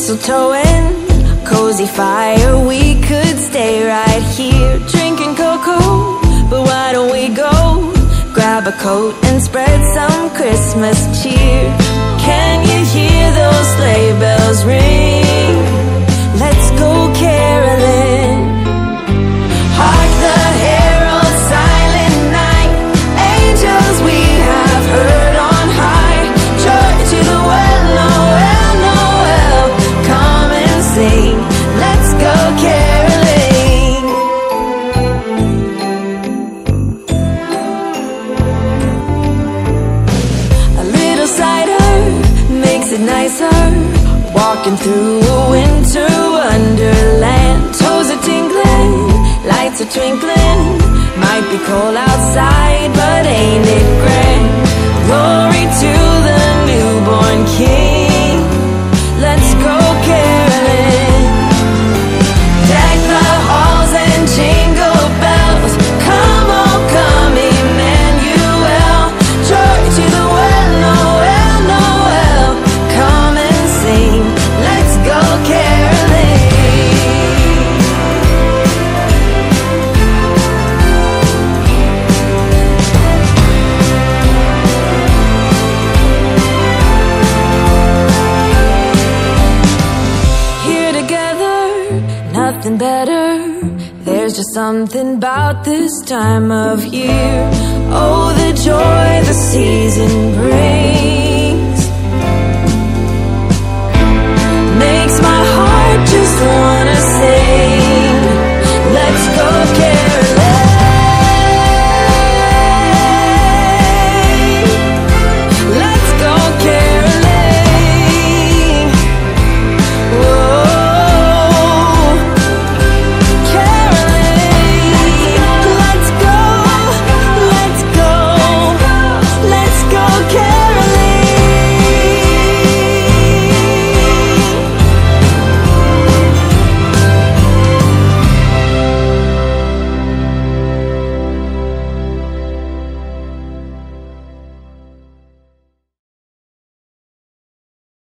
mistletoe and cozy fire. We could stay right here drinking cocoa, but why don't we go grab a coat and spread some Christmas cheer? Can you hear those sleigh bells ring? Let's go caroling. Hark the herald, silent night, angels we have heard on high. Joy to the well, Noel, Noel, come and sing. Let's go caroling. A little cider makes it nicer, walking through a winter wonderland. Toes are tingling, lights are twinkling. Might be cold outside, but ain't it grand? Glory to the newborn King. Let's go caroling. Deck the halls and jingle bells. Come on, come, Emmanuel. Joy to the well, Noel, Noel, come and sing. Let's go caroling. Here together, nothing better. There's just something about this time of year. Oh, the joy the season brings makes my heart just wanna sing.